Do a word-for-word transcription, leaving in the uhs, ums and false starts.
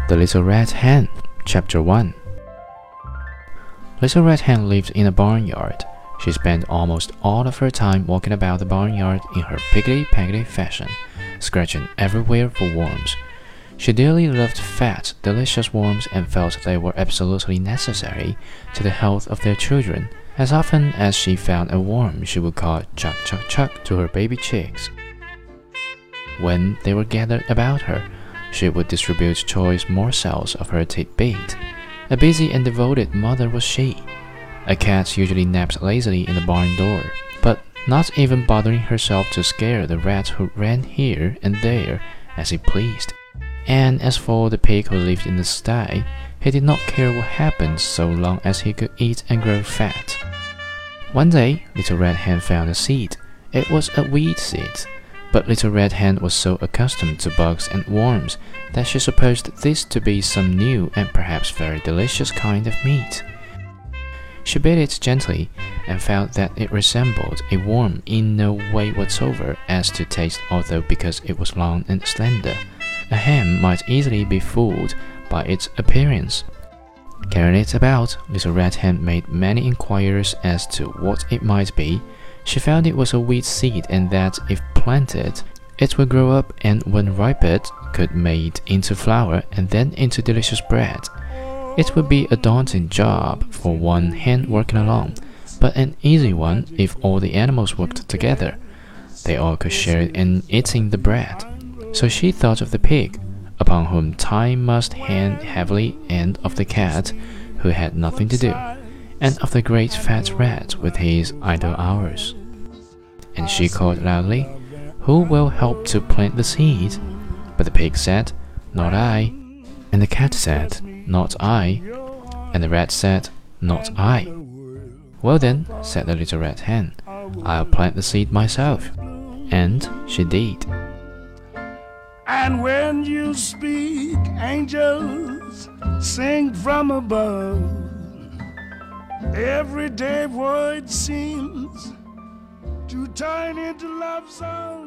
The Little Red Hen, Chapter one. Little Red Hen lived in a barnyard. She spent almost all of her time walking about the barnyard in her piggly-peggly fashion, scratching everywhere for worms. She dearly loved fat, delicious worms and felt they were absolutely necessary to the health of their children. As often as she found a worm, she would call "chuck, chuck, chuck" to her baby chicks. When they were gathered about her, she would distribute choice morsels of her tidbit. A busy and devoted mother was she. A cat usually napped lazily in the barn door, but not even bothering herself to scare the rat who ran here and there as he pleased. And as for the pig who lived in the sty, he did not care what happened so long as he could eat and grow fat. One day, Little Red Hen found a seed. It was a wheat seed. But Little Red Hen was so accustomed to bugs and worms that she supposed this to be some new and perhaps very delicious kind of meat. She bit it gently and found that it resembled a worm in no way whatsoever as to taste, although because it was long and slender, a hen might easily be fooled by its appearance. Carrying it about, Little Red Hen made many inquiries as to what it might be. She found it was a wheat seed and that if planted, it would grow up and when ripened could made into flour and then into delicious bread. It would be a daunting job for one hen working alone, but an easy one if all the animals worked together. They all could share in eating the bread. So she thought of the pig, upon whom time must hang heavily, and of the cat, who had nothing to do, and of the great fat rat with his idle hours. And she called loudly, "Who will help to plant the seed?" But the pig said, "Not I." And the cat said, "Not I." And the rat said, "Not I." "Well then," said the Little Red Hen, "I'll plant the seed myself." And she did. And when you speak, angels sing from above. Everyday word seems to turn into love songs.